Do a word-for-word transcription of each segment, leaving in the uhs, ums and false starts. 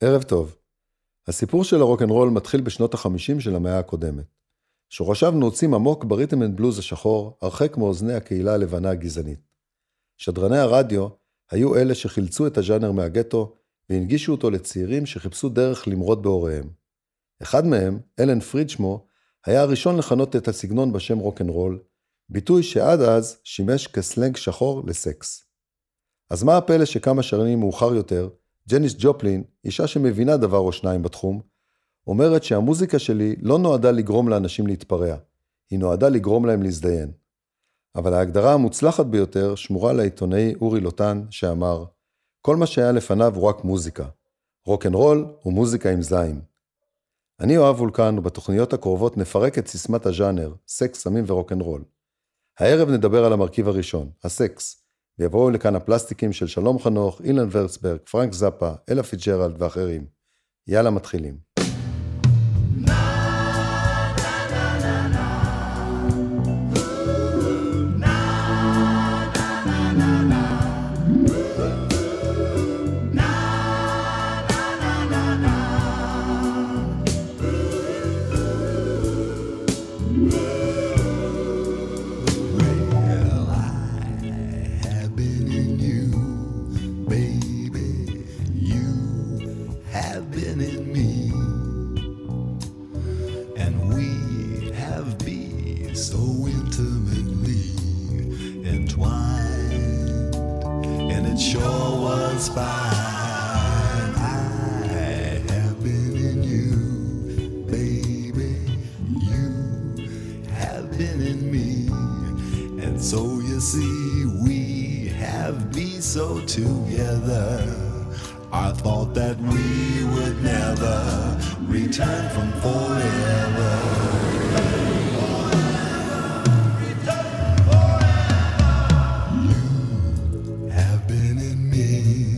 ערב טוב. הסיפור של הרוק'נ'רול מתחיל בשנות החמישים של המאה הקודמת. שורשיו נעוצים עמוק בריתם אנד בלוז השחור, הרחק מאוזני הקהילה הלבנה הגזענית. שדרני הרדיו היו אלה שחילצו את הז'אנר מהגטו, והנגישו אותו לצעירים שחיפשו דרך למרוד בהוריהם. אחד מהם, אלן פריד שמו, היה הראשון לכנות את הסגנון בשם רוק'נ'רול, ביטוי שעד אז שימש כסלנג שחור לסקס. אז מה הפלא שכמה שנים מאוחר יותר, ג'ניס ג'ופלין, אישה שמבינה דבר או שניים בתחום, אומרת שהמוזיקה שלי לא נועדה לגרום לאנשים להתפרע, היא נועדה לגרום להם להזדיין. אבל ההגדרה המוצלחת ביותר שמורה לעיתונאי אורי לוטן שאמר, כל מה שהיה לפניו הוא רק מוזיקה. רוק'נ'רול הוא מוזיקה עם זין. אני אוהב וולקן ובתוכניות הקרובות נפרק את סיסמת הז'אנר, סקס, סמים ורוק'נ'רול. הערב נדבר על המרכיב הראשון, הסקס, ויבואו לכאן הפלסטיקים של שלום חנוך, אילן ורצברג, פרנק זאפה, אלה פיטג'רלד ואחרים. יאללה מתחילים. Together, I thought that we would never return from forever. Return forever. You have been in me,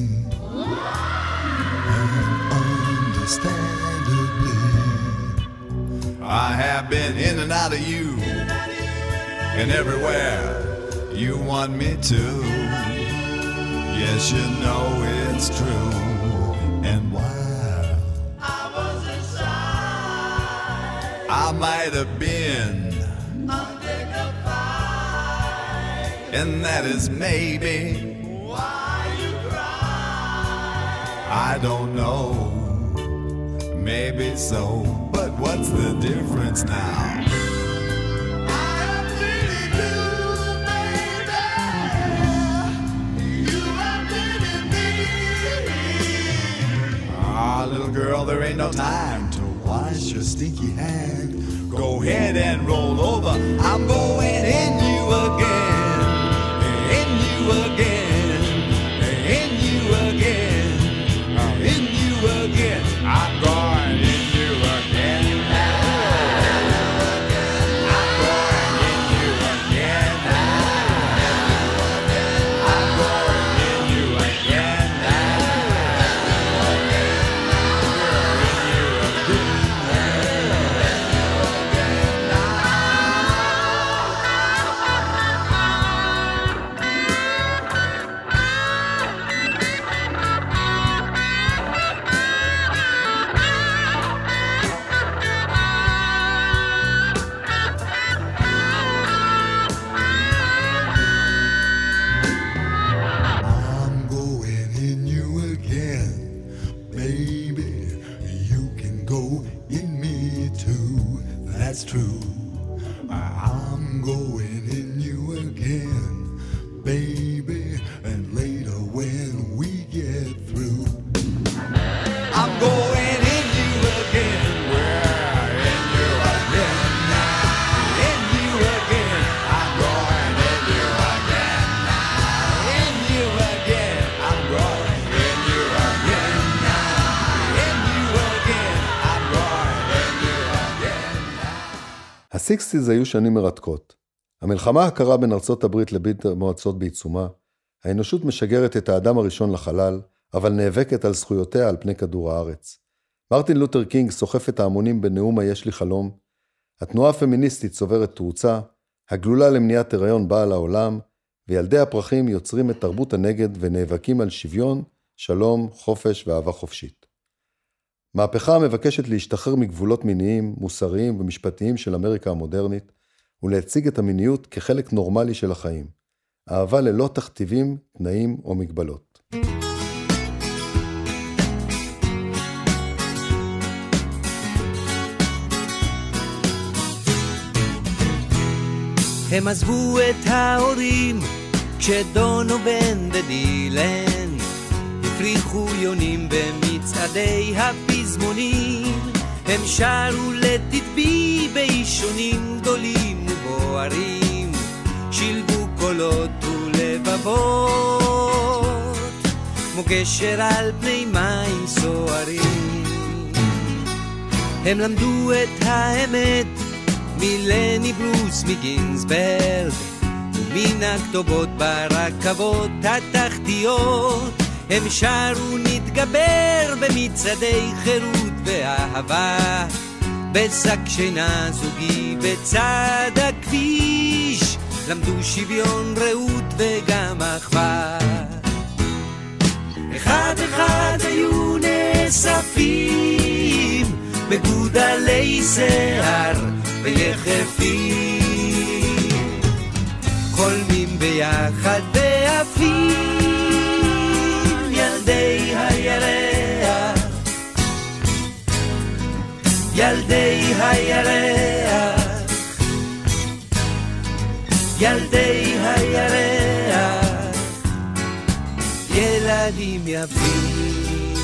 and understandably, I have been in and out of you, and everywhere you want me to. Yes, you know it's true. And while I was inside, I might have been undignified, and that is maybe why you cry. I don't know, maybe so, but what's the difference now? Little girl, there ain't no time to wash your stinky hand. Go ahead and roll over. I'm going in you again, in you again, in you again, in you again. I'm going in you again. I'm going in you again. I'm going in you again. הסיקסטיז היו שנים מרתקות. המלחמה הקרה בין ארצות הברית לברית המועצות בעיצומה, האנושות משגרת את האדם הראשון לחלל, אבל נאבקת על זכויותיה על פני כדור הארץ. מרטין לותר קינג סוחף את ההמונים בנאום היש לי חלום, התנועה הפמיניסטית צוברת תרוצה, הגלולה למניעת הריון באה לעולם, וילדי הפרחים יוצרים את תרבות הנגד ונאבקים על שוויון, שלום, חופש ואהבה חופשית. מהפכה המבקשת להשתחרר מגבולות מיניים, מוסריים ומשפטיים של אמריקה המודרנית, ולהציג את המיניות כחלק נורמלי של החיים. אהבה ללא תכתיבים, תנאים או מגבלות. הם עזבו את ההורים כשדונובן ודילן הפריחו יונים במצעדי הפזמונים. הם שרו לתדבי באישונים גדולים ובוערים, שילבו קולות ולבבות כמו גשר על פני מים סוערים. הם למדו את האמת מלני ברוס מגינסברג ומן הכתובות ברכבות התחתיות. הם שרו נתגבר במצעדי חירות ואהבה, בשק שינה זוגי בצד הכביש, למדו שוויון רעות וגם אחווה. אחד אחד היו נאספים מגודלי שיער ויחפים, חולמים ביחד ועפים ילדי הירח, ילדי הירח, ילדי הירח, ילדים יפים.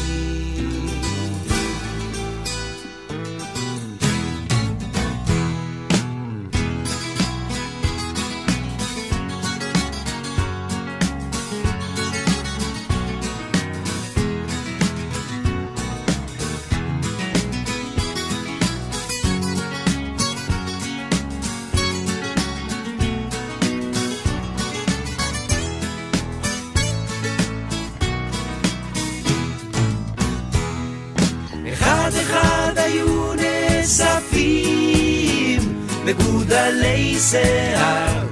מגודלי שיער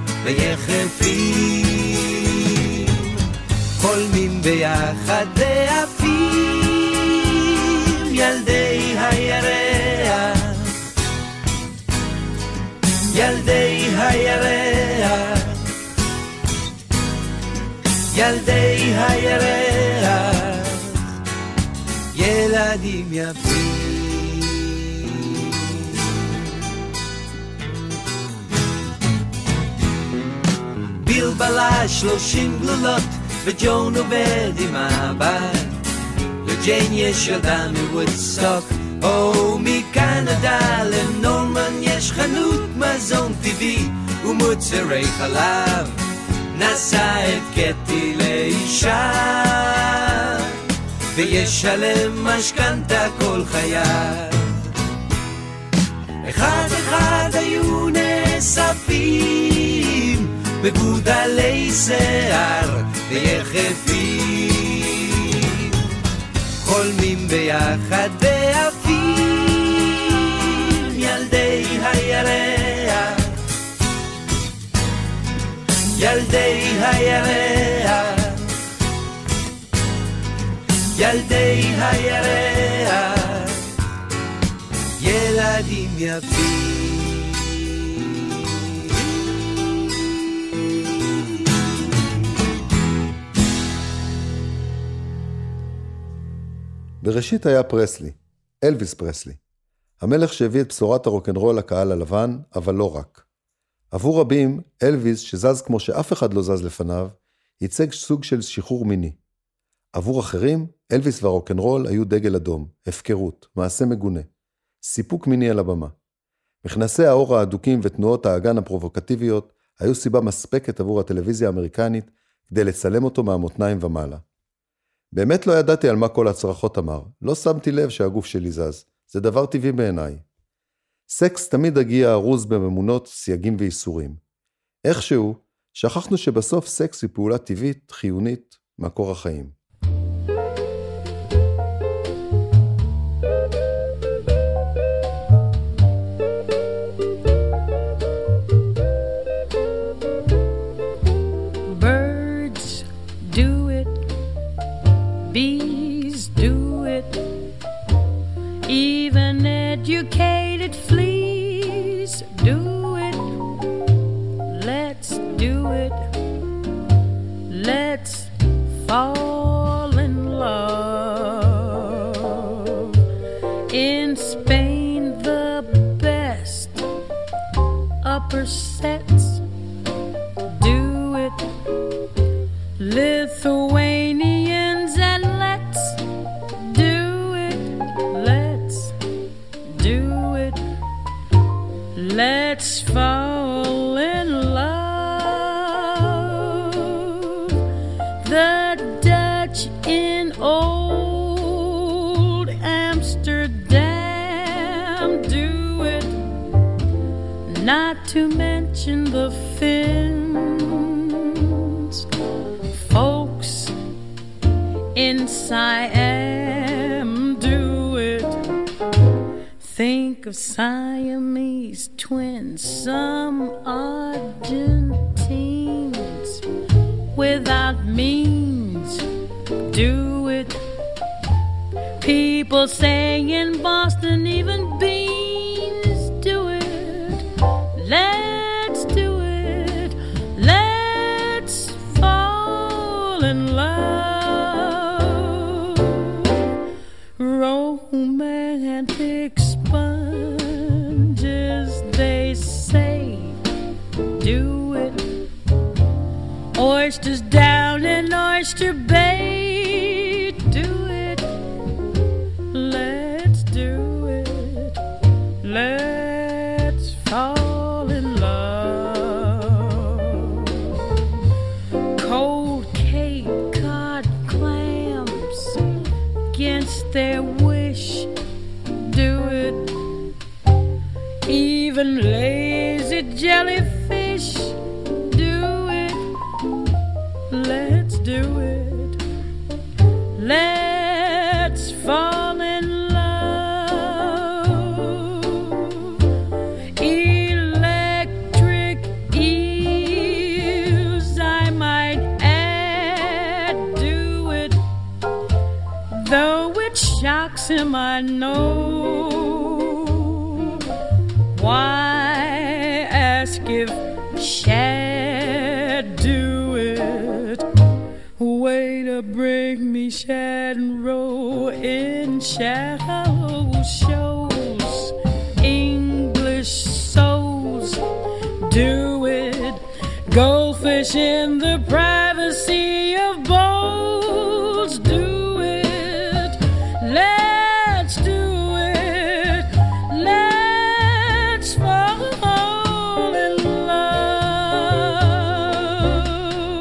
ויחפים, חולמים ביחד ועפים ילדי הירח, ילדי הירח, ילדי הירח, ילדים יפים. בלבלה שלושים גלולות וג'ון עובד עם הבית, לג'יין יש ילדה מוודסטוק או מקנדה, לנורמן יש חנות מזון טבעי ומוצרי חלב, נשא את קטי לאישה וישלם משכנתה כל חייו. אחד אחד היו נאספים מגודלי שיער ויחפים, חולמים ביחד ועפים ילדי הירח, ילדי הירח, ילדי הירח, ילדים יפים. בראשית היה פרסלי, אלוויס פרסלי, המלך שהביא את בשורת הרוקנרול לקהל הלבן, אבל לא רק. עבור רבים, אלוויס, שזז כמו שאף אחד לא זז לפניו, ייצג סוג של שחרור מיני. עבור אחרים, אלוויס והרוקנרול היו דגל אדום, הפקרות, מעשה מגונה, סיפוק מיני על הבמה. מכנסי האור האדוקים ותנועות האגן הפרובוקטיביות היו סיבה מספקת עבור הטלוויזיה האמריקנית כדי לצלם אותו מהמותניים ומעלה. באמת לא ידעתי על מה כל הצרחות אמר, לא שמתי לב שהגוף שלי זז, זה דבר טבעי בעיניי. סקס תמיד הגיע ארוז בממונות, סייגים ואיסורים. איכשהו, שכחנו שבסוף סקס היא פעולה טבעית, חיונית, מקור החיים. supersets. Do it, Lithuanians, and let's do it. Let's do it. Let's fall in love. The Dutch in old Amsterdam do it. Not to mention the Finns, folks in Siam do it. Think of Siamese twins, some Argentines without means do it. People saying in Boston even beans do it. Let's do it. Let's fall in love. Romantic sponges, they say, do it. Oysters down in Oyster Bay, do it. Let's do it. Let's fall in love. Cold Cape Cod clams against their wish, do it. Even lazy jellyfish, do it. Let's do it. Let's fall in love. Electric eels, I might add, do it. Though it shocks him, I know. Why ask if Shad do it? Way to bring me Shad and roll in shallow shows. English souls do it. Goldfish in the privacy of bowls do it. Let's do it. Let's fall in love.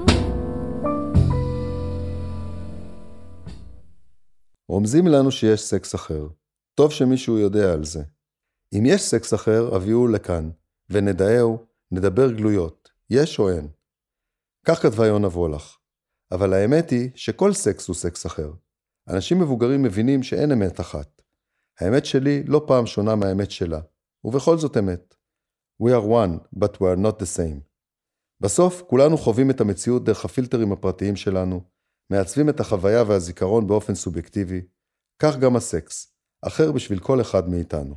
רומזים לנו שיש סקס אחר. טוב שמישהו יודע על זה. אם יש סקס אחר, הביאו לכאן, ונדעהו, נדבר גלויות, יש או אין. כך כתבה יונה וולך. אבל האמת היא שכל סקס הוא סקס אחר. אנשים מבוגרים מבינים שאין אמת אחת. האמת שלי לא פעם שונה מהאמת שלה, ובכל זאת אמת. We are one, but we are not the same. בסוף, כולנו חווים את המציאות דרך הפילטרים הפרטיים שלנו, מעצבים את החוויה והזיכרון באופן סובייקטיבי, כך גם הסקס, אחר בשביל כל אחד מאיתנו.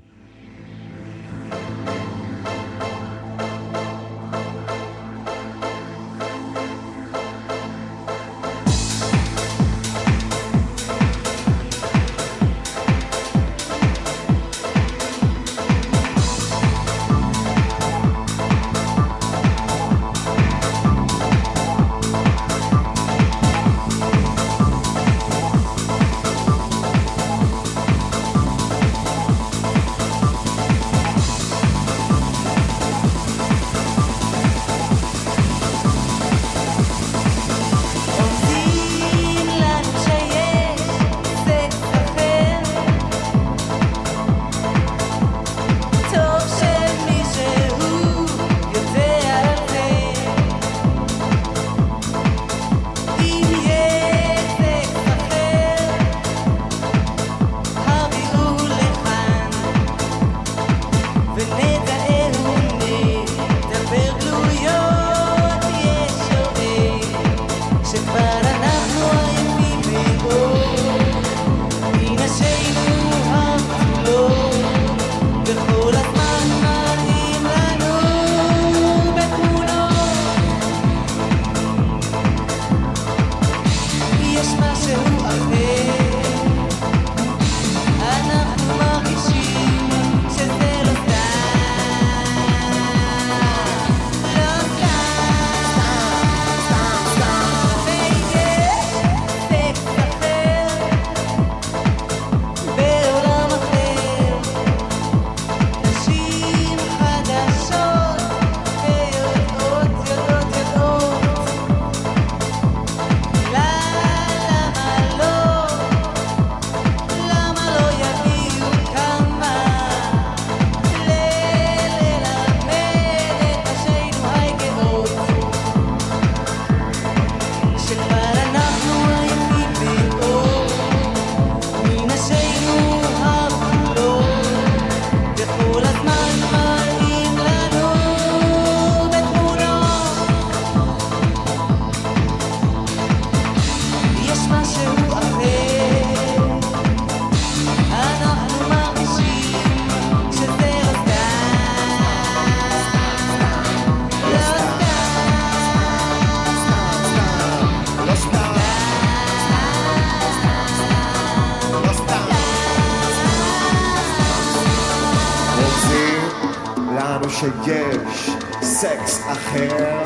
לנו שיש סקס אחר.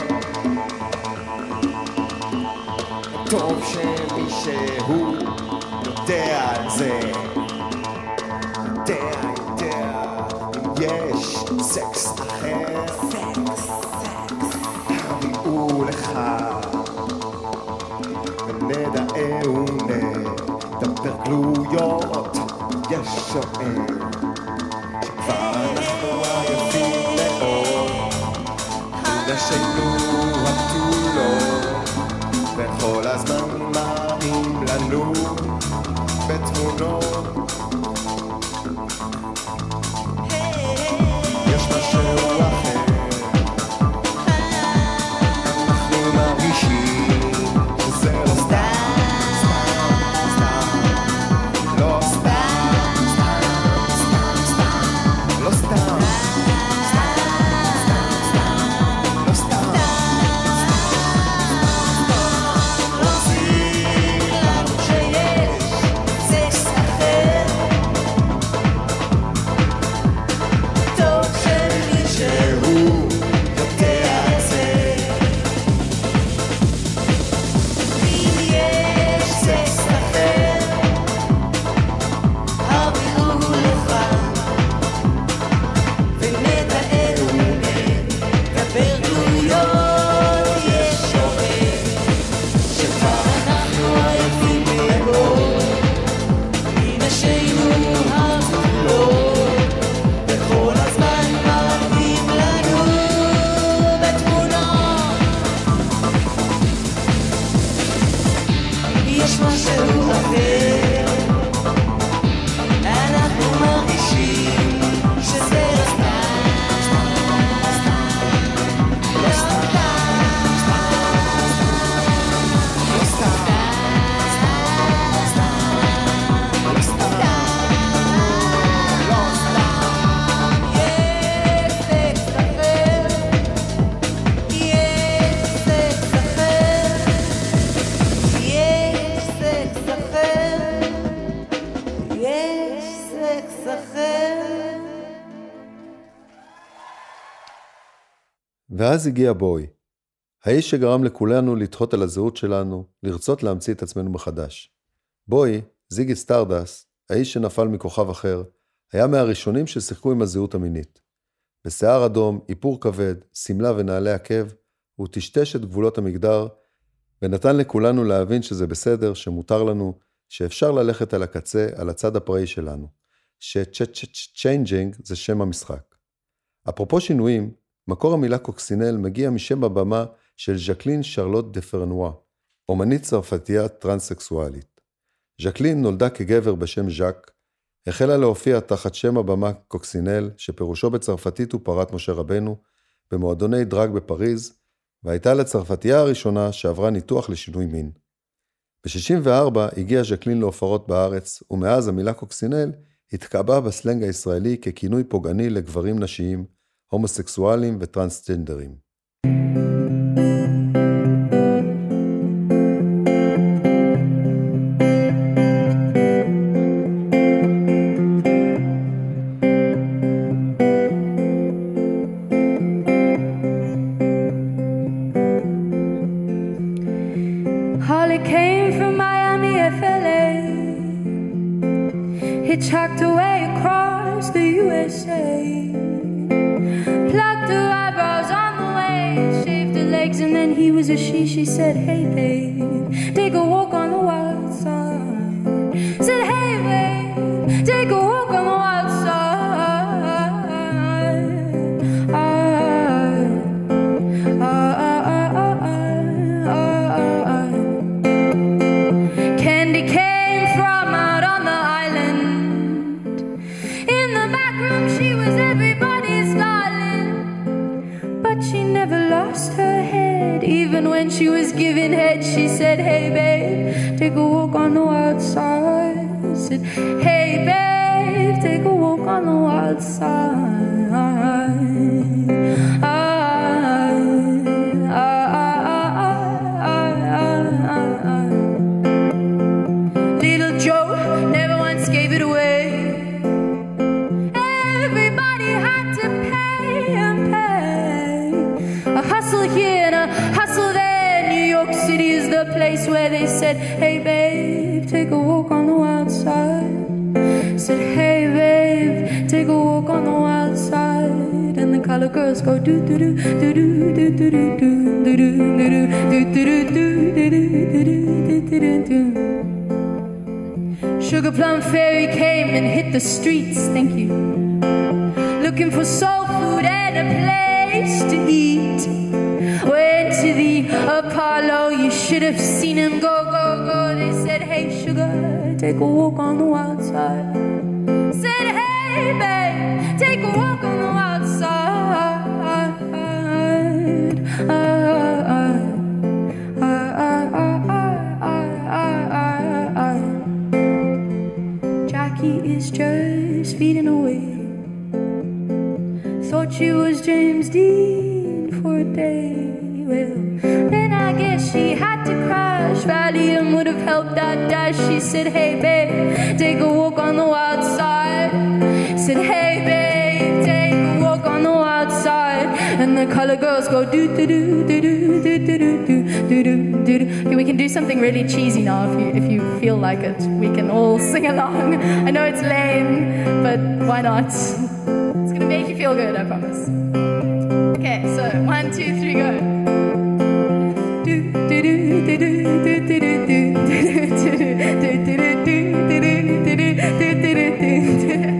טוב שמישהו יודע על זה, יודע, יודע, יש סקס אחר. הביאו לך ונדעה ונדבר גלויות. יש שואל שכבר אנחנו עייפים מאוד נשינו התולות, וכל הזמן מראים לנו בתמונות. יש משהו אחר, אנחנו מרגישים שזה לא סתם, סתם, סתם, לא סתם, סתם, סתם, סתם, לא סתם, סתם, סתם, סתם, לא סתם. ואז הגיע בוי, האיש שגרם לכולנו לתהות על הזהות שלנו, לרצות להמציא את עצמנו מחדש. בוי, זיגי סטארדס, האיש שנפל מכוכב אחר, היה מהראשונים ששיחקו עם הזהות המינית. בשיער אדום, איפור כבד, סמלה ונעלי עקב, הוא טשטש את גבולות המגדר, ונתן לכולנו להבין שזה בסדר, שמותר לנו, שאפשר ללכת על הקצה, על הצד הפראי שלנו, ש-צ'יינג'ינג זה שם המשחק. אפרופו שינויים, מקור המילה קוקסינל מגיע משם הבמה של ז'קלין שרלוט דה פרנואה, אומנית צרפתייה טרנסקסואלית. ז'קלין נולדה כגבר בשם ז'ק, החלה להופיע תחת שם הבמה קוקסינל, שפירושו בצרפתית הוא פרת משה רבנו, במועדוני דרג בפריז, והייתה לצרפתייה הראשונה שעברה ניתוח לשינוי מין. ב-שישים וארבע הגיעה ז'קלין להופעות בארץ, ומאז המילה קוקסינל התקבעה בסלנג הישראלי ככינוי פוגעני לגברים נשיים, הומוסקסואלים וטרנסג'נדרים. Holly came from Miami, F L A, hitchhiked away across the U S A, plucked her eyebrows on the way, shaved her legs, and then he was a she. She said, hey babe, take a walk on the wild side. Said, hey babe, take a walk on the wild side. I, I, I, I, I, I. Candy came from out on the island. In the back room she was everybody's darling, but she never lost her head. Even when she was giving head, she said, hey babe, take a walk on the wild side. I said, hey babe, take a walk on the wild side. I, I, I, I, I, I. Little Joe never once gave it away. Everybody had to pay. a place where they said, hey babe, take a walk on the wild side. Said, hey babe, take a walk on the wild side. And the colored girls go do do do do do do do do do do do do do do do do do. Sugar Plum Fairy came and hit the streets, thank you, looking for soul food and a place to eat. Went to the Apollo, you should have seen him go, go, go. They said, hey sugar, take a walk on the wild side. Said, hey babe, take a walk on the wild side. I, I, is just feeding away. Thought she was James Dean for a day. Well, then I guess she had to crash. Valium would have helped that dash. She said, hey babe, take a walk on the wild side. Said, hey babe, take a walk on the wild side. And the color girls go do do do do do do do do do do do. Okay, we can do something really cheesy now if you if you feel like it. We can all sing along. I know it's lame, but why not? It's gonna make you feel good, I promise. Okay, so one, two, three, go. Do do do do do do do do do do do do do do.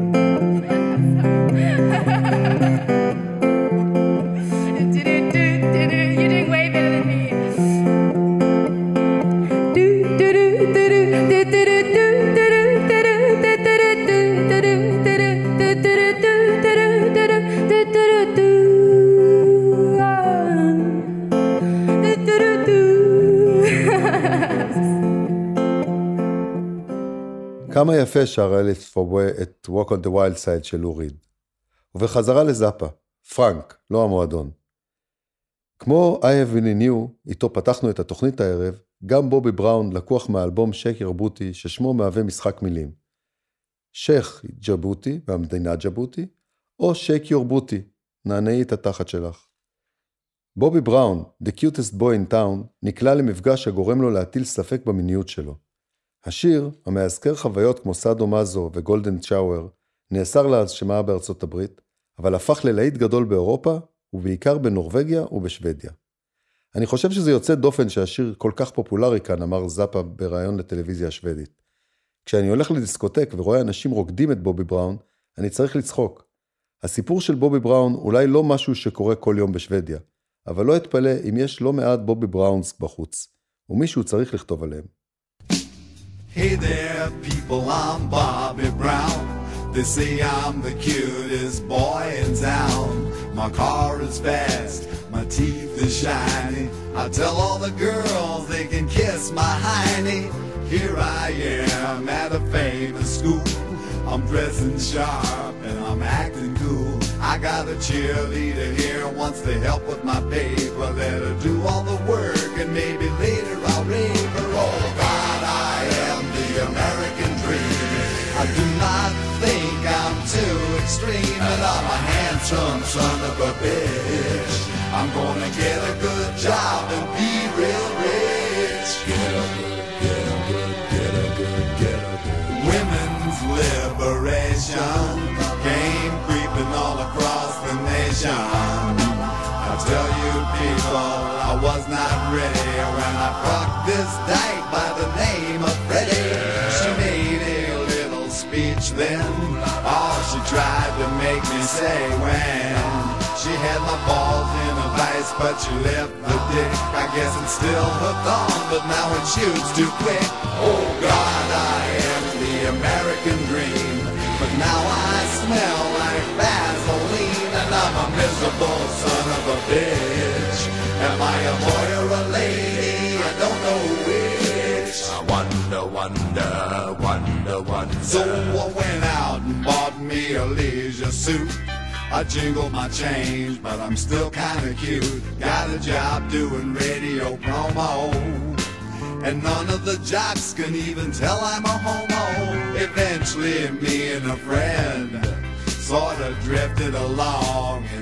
כמה יפה שר אליס פובואה את Walk on the Wild Side של לוריד. ובחזרה לזאפה, פרנק, לא המועדון. כמו I Have Been in You, איתו פתחנו את התוכנית הערב, גם בובי בראון לקוח מהאלבום שייק ירבוטי, ששמו מהווה משחק מילים. שייך ג'בוטי, והמדינה ג'בוטי, או שייק יורבוטי, נענעי את התחת שלך. בובי בראון, The Cutest Boy in Town, נקלע למפגש הגורם לו להטיל ספק במיניות שלו. השיר, המאזכר חוויות כמו סאדו מזו וגולדן צ'אואר, נאסר להשמעה בארצות הברית, אבל הפך ללהיט גדול באירופה, ובעיקר בנורווגיה ובשוודיה. אני חושב שזה יוצא דופן שהשיר כל כך פופולרי כאן, אמר זאפה בראיון לטלוויזיה השוודית. כשאני הולך לדיסקוטק ורואה אנשים רוקדים את בובי בראון, אני צריך לצחוק. הסיפור של בובי בראון אולי לא משהו שקורה כל יום בשוודיה, אבל לא אתפלא אם יש לא מעט בובי בראונס בחוץ, ומישהו צריך לכתוב עליהם. Hey there, people, I'm Bobby Brown. They say I'm the cutest boy in town. My car is fast, my teeth is shiny. I tell all the girls they can kiss my hiney. Here I am at a famous school. I'm dressing sharp and I'm acting cool. I got a cheerleader here who wants to help with my paper. Let her do all the work and maybe later I'll rave her. Oh God, I am the American dream. I do not think I'm too extreme, and I'm a handsome son of a bitch. I'm gonna get a good job and be real rich. Get a good, get a good, get a good, get a good. Women's liberation came creeping all across the nation. I tell you people, I was not ready when I fucked this dyke by the name of Freddie. She made a little speech then, all she tried to make me say when she had my balls in a vice, but she left the dick. I guess it's still hooked on, but now it shoots too quick. Oh God, I am the American dream, but now I smell like Vaseline, and I'm a miserable son of a bitch. Am I a boy or a lady? I don't know which. I wonder, wonder, wonder, wonder. So I went out and bought me a leisure suit. I jingled my change, but I'm still kinda cute. Got a job doing radio promo, and none of the jocks can even tell I'm a homo. Eventually me and a friend sorta drifted along and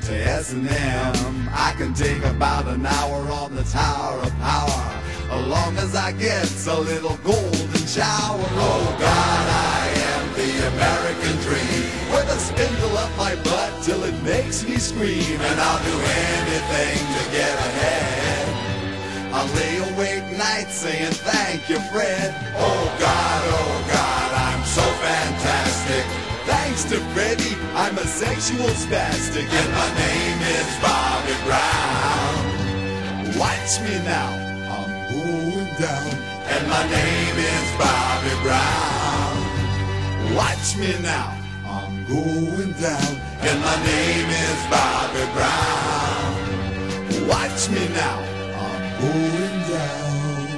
to S and M. I can take about an hour on the Tower of Power, as long as I get a little golden shower. Oh God, I am the American dream, with a spindle up my butt till it makes me scream, and I'll do anything to get ahead. I'll lay awake nights saying thank you, Fred. Oh God, oh God, I'm so fantastic. Thanks to Freddie, I'm a sexual spastic, and my name is Bobby Brown. Watch me now, I'm going down, and my name is Bobby Brown. Watch me now, I'm going down, and my name is Bobby Brown. Watch me now, I'm going down.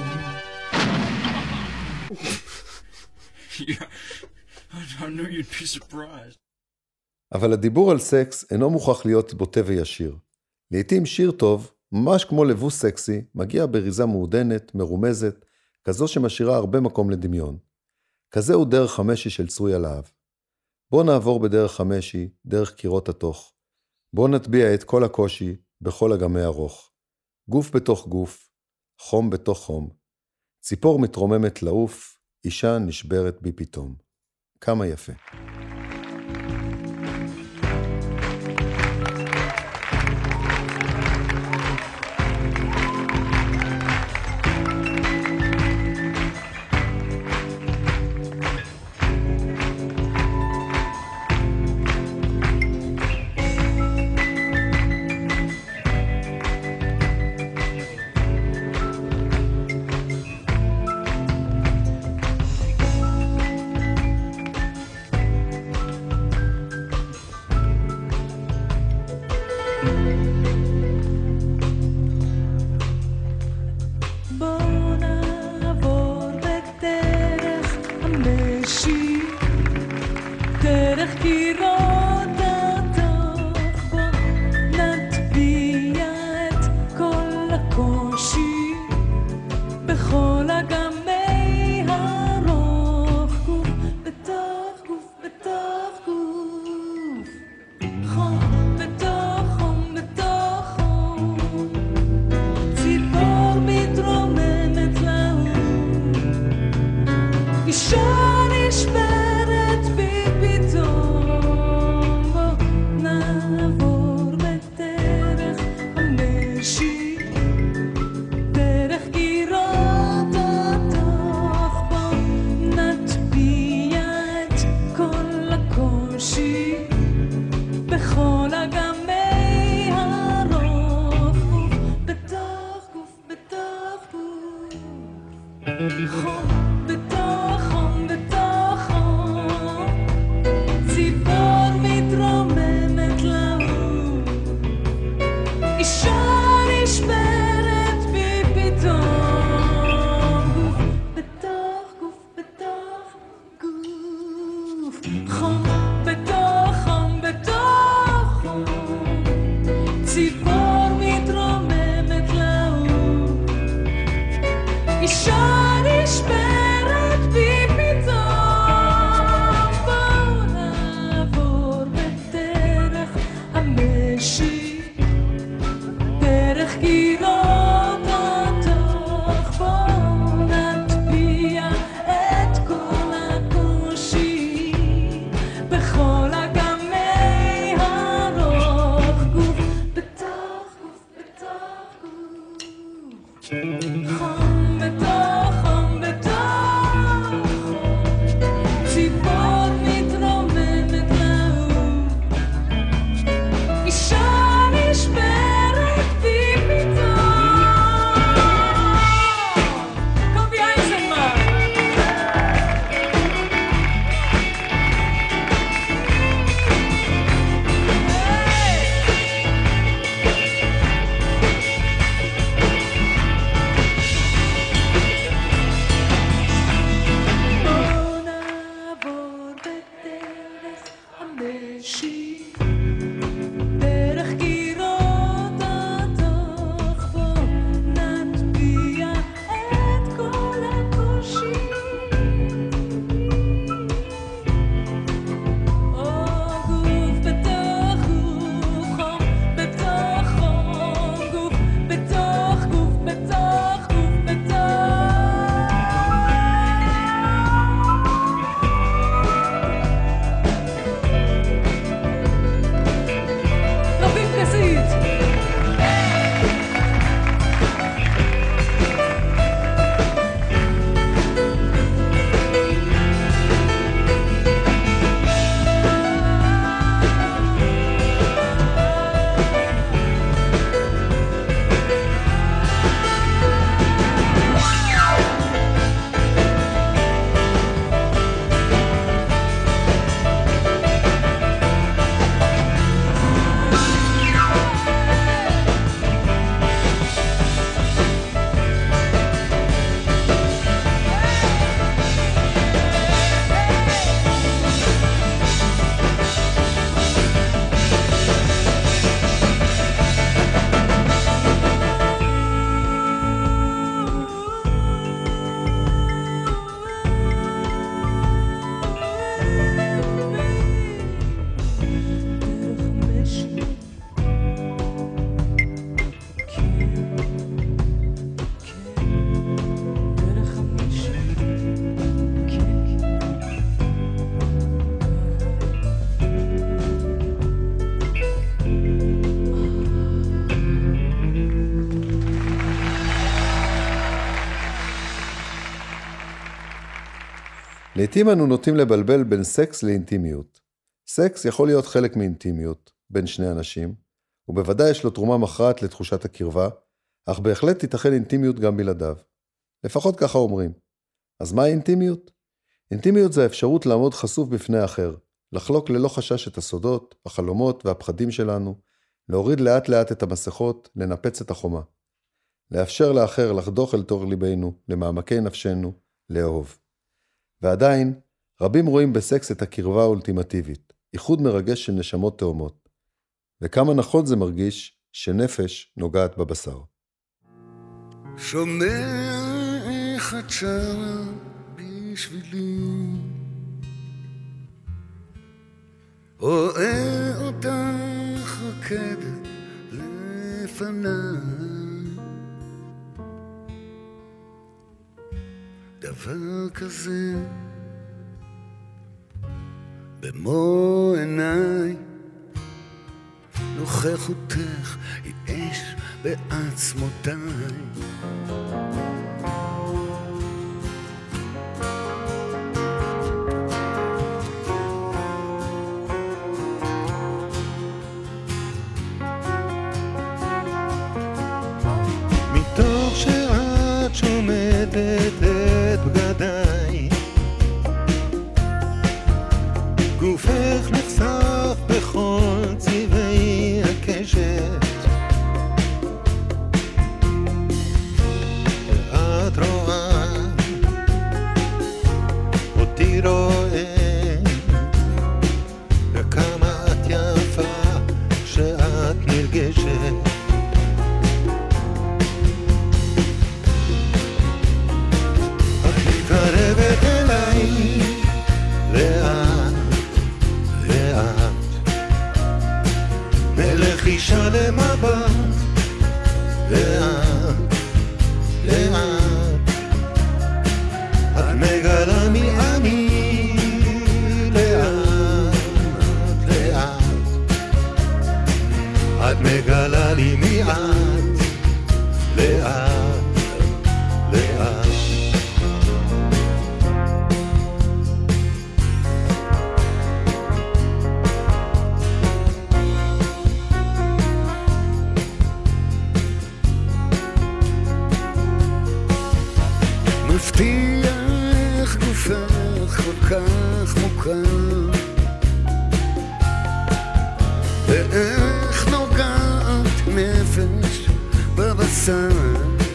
Yeah, I knew you'd be surprised. אבל הדיבור על סקס אינו מוכרח להיות בוטה וישיר. לעתים שיר טוב, ממש כמו לבוש סקסי, מגיע בריזה מעודנת, מרומזת, כזו שמשאירה הרבה מקום לדמיון. כזה הוא דרך חמשי של צרויה להב. בוא נעבור בדרך חמשי, דרך קירות התוך. בוא נטביע את כל הקושי בכל אגמי ארוך. גוף בתוך גוף, חום בתוך חום. ציפור מתרוממת לעוף, אישה נשברת בי פתאום. כמה יפה. בכל אגמי הרוח גוף בתוך לעתים אנו נוטים לבלבל בין סקס לאינטימיות. סקס יכול להיות חלק מאינטימיות בין שני אנשים, ובוודאי יש לו תרומה מכרעת לתחושת הקרבה, אך בהחלט תיתכן אינטימיות גם בלעדיו. לפחות ככה אומרים. אז מה אינטימיות? אינטימיות זה האפשרות לעמוד חשוף בפני האחר, לחלוק ללא חשש את הסודות, החלומות והפחדים שלנו, להוריד לאט לאט את המסכות, לנפץ את החומה. לאפשר לאחר לחדוך אל תוך ליבנו, למעמקי נפשנו, לאהוב. ועדיין, רבים רואים בסקס את הקרבה האולטימטיבית, איחוד מרגש של נשמות תאומות. וכמה נכון זה מרגיש שנפש נוגעת בבשר. שומע איך את שרה בשבילי, רואה אותך רוקדת לפניי, דבר כזה במו עיניי, נוכחותך היא אש בעצמותיי. מתוך שאת שומטת את בגדיי, גופך נחשף בכל צבעי הקשת, את רואה אותי רואה, וכמה את יפה כשאת נרגשת. את מתקרבת אליי לאט לאט, בלחישה למבט, לאט לאט, את מגלה מי אני, לאט לאט, את מגלה לי מי את, לאט לאט. מבטיח גופך כל כך מוכר, ואיך נוגעת נפש בבשר,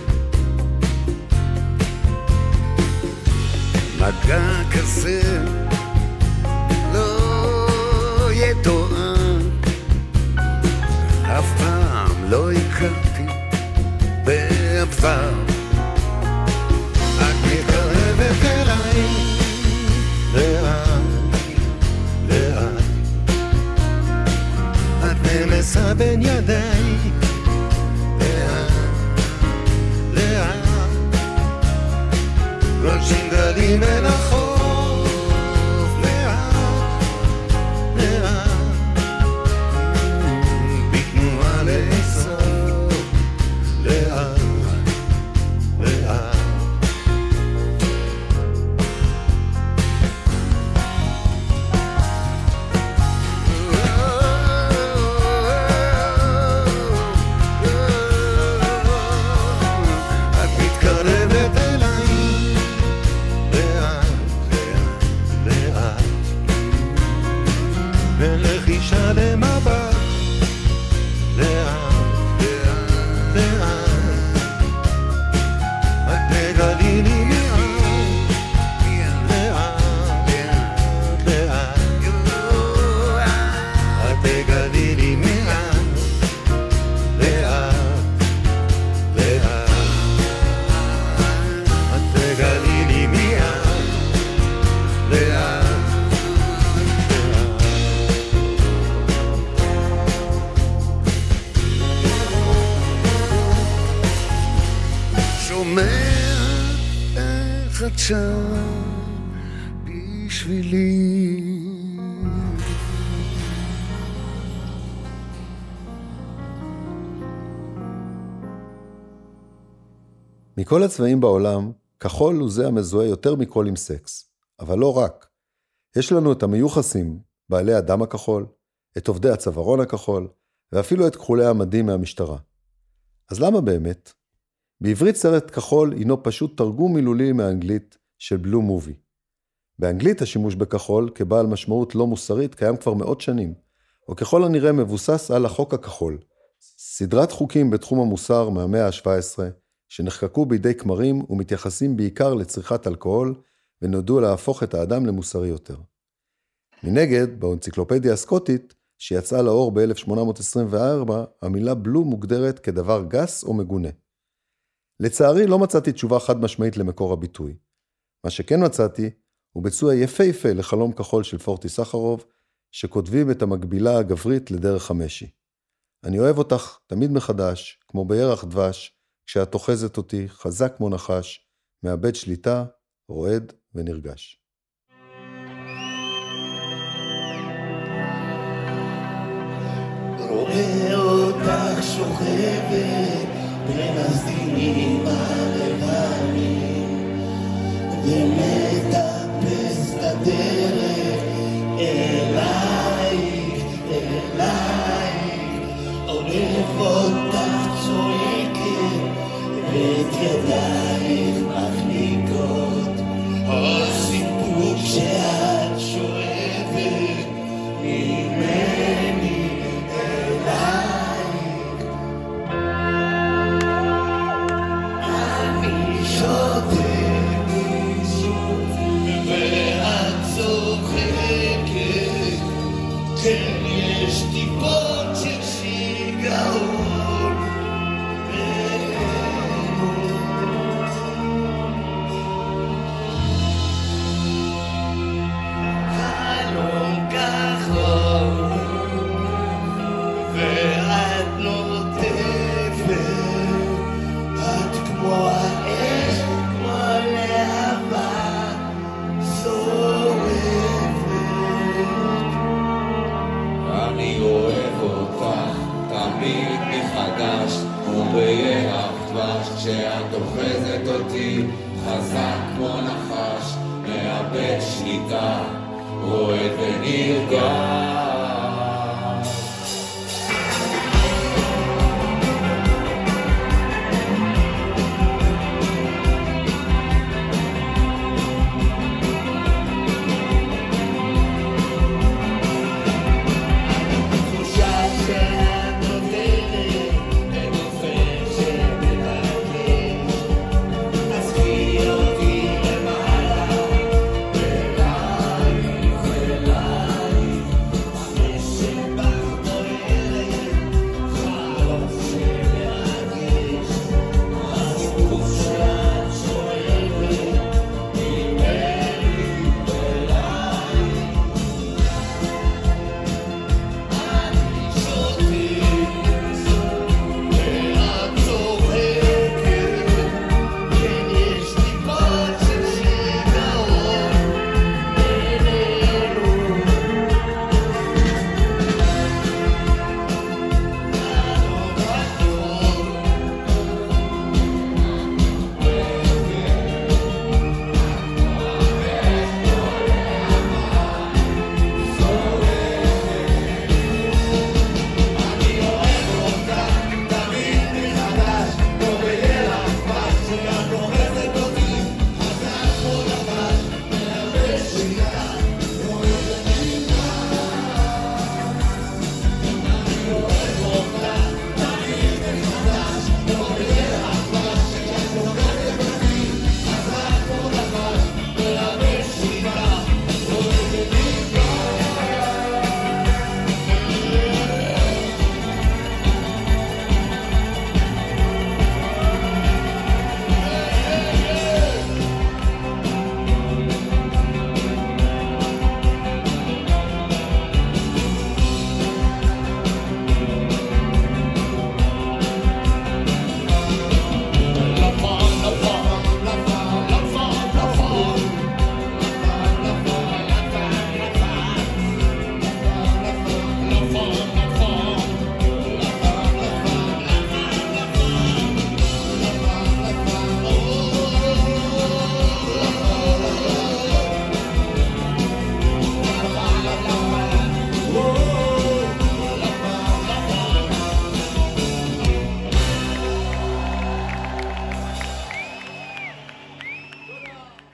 מגע כזה לא יתואר, אף פעם לא הכרתי בעבר. את מתקרבת אליי לאט לאט, את נמסה בין ידיי, לאט לאט, גולשים גלים אל החוף, לאט לאט, בתנועה לאסוף, לאט לאט. בלחישה למבט, לאט לאט, את תגלי לי לאט לאט, את תגלי לי לאט לאט לאט, את תגלי לי לאט לאט. שומע איך את שרה בשבילי. מכל הצבעים בעולם, כחול הוא זה המזוהה יותר מכל עם סקס. אבל לא רק. יש לנו את המיוחסים, בעלי הדם הכחול, את עובדי הצווארון הכחול, ואפילו את כחולי המדים מהמשטרה. אז למה באמת? בעברית סרט כחול הינו פשוט תרגום מילולי מהאנגלית של בלו מובי. באנגלית השימוש בכחול כבעל משמעות לא מוסרית קיים כבר מאות שנים, או ככל הנראה מבוסס על החוק הכחול, סדרת חוקים בתחום המוסר מהמאה ה-שבע עשרה, שנחקקו בידי כמרים ומתייחסים בעיקר לצריכת אלכוהול, ונועדו להפוך את האדם למוסרי יותר. מנגד, באנציקלופדיה הסקוטית, שיצאה לאור ב-אלף שמונה מאות עשרים וארבע, המילה בלו מוגדרת כדבר גס או מגונה. לצערי לא מצאתי תשובה חד משמעית למקור הביטוי. מה שכן מצאתי, הוא ביצוע יפהפה לחלום כחול של פורטי סחרוב, שכותבים את המקבילה הגברית לדרך המשי. אני אוהב אותך תמיד מחדש, כמו בירח דבש, כשאת תוחזת אותי חזק כמו נחש, מאבד שליטה, רועד ונרגש. רואה אותך שוכבת בין הסדינים הלבנים ומטפס את הדרך אלייך, אלייך עורף אותך צועקת ואת ידייך מחניקות הסיפור שאת שואבת ממני כן, יש טיפות של שיגעון חלום כחול ואת נוטפת את כמו האש, כמו להבה אני אוהב אותך תמיד מחדש ובירח דבש כשאת אוחזת אותי חזק כמו נחש מאבד שליטה רועד ונרגש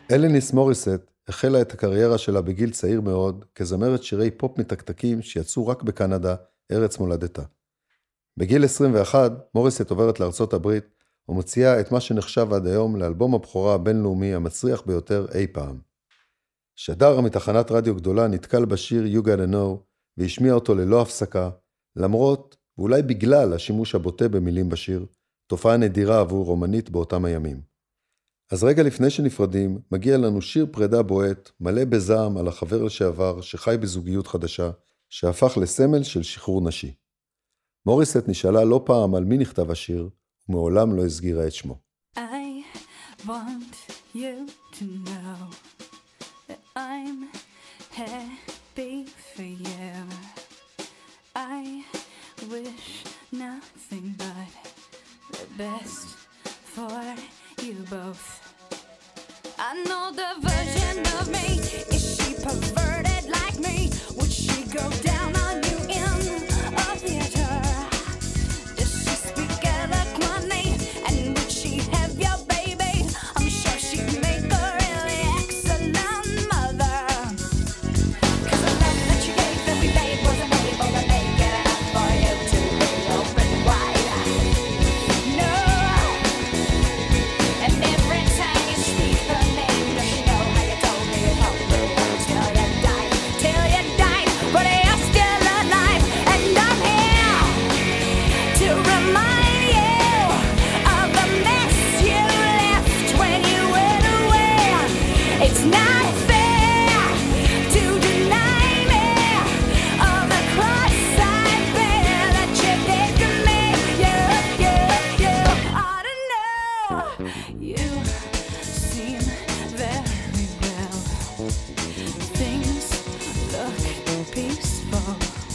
אלניס מוריסט החלה את הקריירה שלה בגיל צעיר מאוד, כזמרת שירי פופ מתקתקים שיצאו רק בקנדה, ארץ מולדתה. בגיל עשרים ואחת, מוריסט עוברת לארצות הברית, ומוציאה את מה שנחשב עד היום לאלבום הבכורה הבינלאומי המצריח ביותר אי פעם. שדר מתחנת רדיו גדולה נתקל בשיר You Gotta Know, והשמיע אותו ללא הפסקה, למרות, ואולי בגלל השימוש הבוטה במילים בשיר, תופעה נדירה עבור רומנית באותם הימים. אז רגע לפני שנפרדים, מגיע לנו שיר פרידה בועט, מלא בזעם על החבר לשעבר שחי בזוגיות חדשה, שהפך לסמל של שחרור נשי. מוריסט נשאלה לא פעם על מי נכתב השיר, ומעולם לא הסגירה את שמו. I want you to know that I'm happy for you. I wish nothing but the best for you both. I know the version of me, is she perverted like me? Would she go down on you in a theater? Does she speak eloquently? And would she have your baby? I'm sure she'd make a really excellent mother. Cause the love that you gave that we made wasn't able to make it enough for you to be open wide. No. And every time you speak her name, does she know how you told me you told me until you died, till you died, but you're still alive, and I'm here to remind you of the mess you left when you went away. It's not fair to deny me of the cross I bear that you did to me. You, you, you ought to know. You seem very well. Things look peaceful.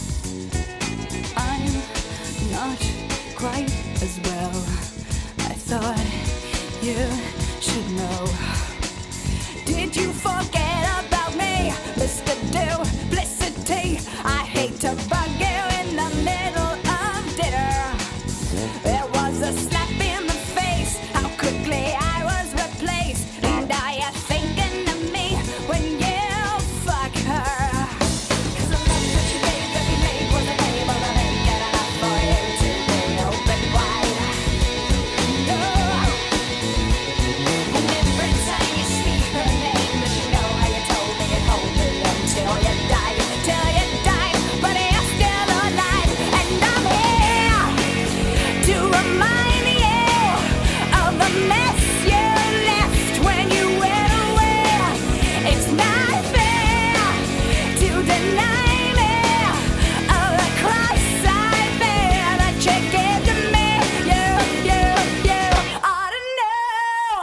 I'm not quite as well. I thought you should know. Did you forget about me, Mister Duplicity? I hate to bug you in the middle of dinner. There was a slap in the face, how quickly I was replaced. And are you thinking of me when you fuck her? Cause the love that you gave that we made wasn't able to make it enough for you to be open wide. No. And every time you speak her name, does she know how you told me you'd hold me until you died, till you died, but you're still alive, and I'm here to remind you of the mess you left when you went away. It's not fair to deny me of the cross I bear that you gave to me. You, you, you ought to know.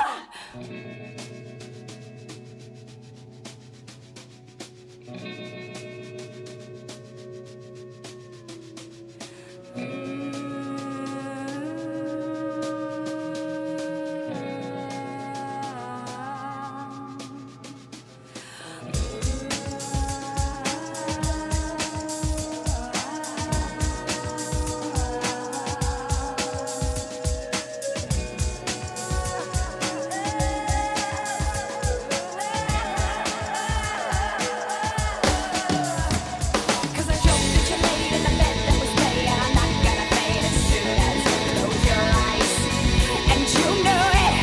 Cause the joke that you made in the bed that was made, and I'm not gonna fade as soon as you close your eyes. And you know it.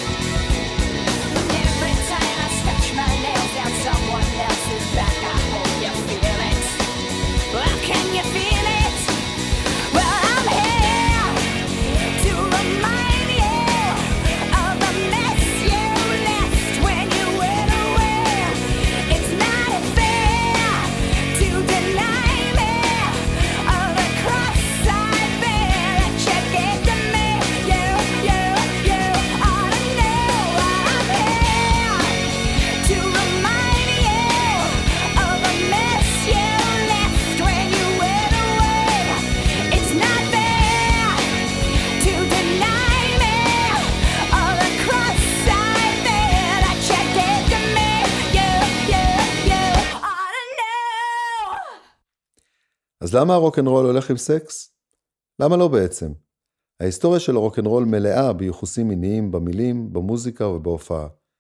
Every time I scratch my nails down someone else's back, I hope you feel it. Well, can you feel it? Well, I'm here to remind you of the mess you left when you went away. It's not fair to deny me of the cross I bear that you gave to me. You, you, you ought to know I'm here to remind you of the mess you left when you went away. It's not fair to deny me of the cross I bear that you gave to me. You, you, you ought to know. אז למה הרוק'נ'רול הולך עם סקס? למה לא בעצם? ההיסטוריה של הרוק'נ'רול מלאה ביחוסים מיניים, במילים, במוזיקה ובהופעה.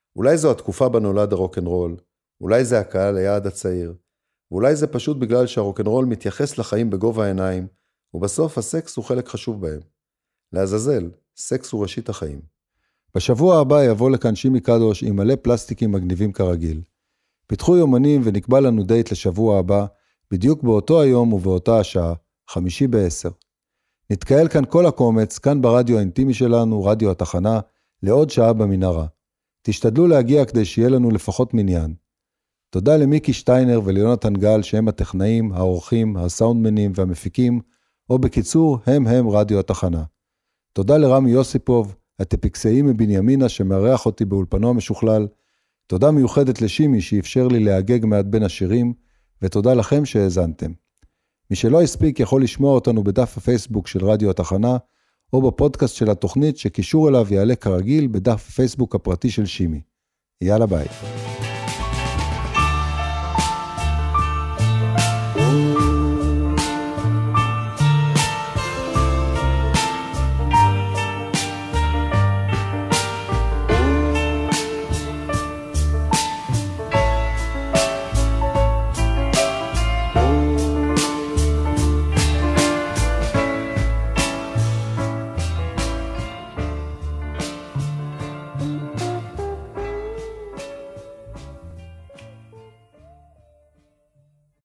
אולי זו התקופה בה נולד הרוקנרול, אולי זה הקהל היעד הצעיר, ואולי זה פשוט בגלל שהרוקנרול מתייחס לחיים בגובה העיניים, ובסוף הסקס הוא חלק חשוב בהם. לעזאזל, סקס הוא ראשית החיים. בשבוע הבא יבוא לכאן שימי קדוש עם מלא פלסטיקים מגניבים כרגיל. פיתחו יומנים ונקבע לנו דייט לשבוע הבא, בדיוק באותו היום ובאותה השעה, חמישי בעשר. נתקהל כאן כל הקומץ, כאן ברדיו האינטימי שלנו, רדיו התחנה, לעוד שעה במנהרה. תשתדלו להגיע כדי שיהיה לנו לפחות מניין. תודה למיקי שטיינר וליונתן גל שהם הטכנאים, האורחים, הסאונדמנים והמפיקים, או בקיצור, הם הם רדיו התחנה. תודה לרמי יוסיפוב, הטפיקסאי מבנימינה שמארח אותי באולפנו המשוכלל. תודה מיוחדת לשימי שאפשר לי להגג מעט בין השירים, ותודה לכם שהאזנתם. מי שלא הספיק יכול לשמוע אותנו בדף הפייסבוק של רדיו התחנה, או בפודקאסט של התוכנית שקישור אליו יעלה כרגיל בדף הפייסבוק הפרטי של שימי. יאללה ביי.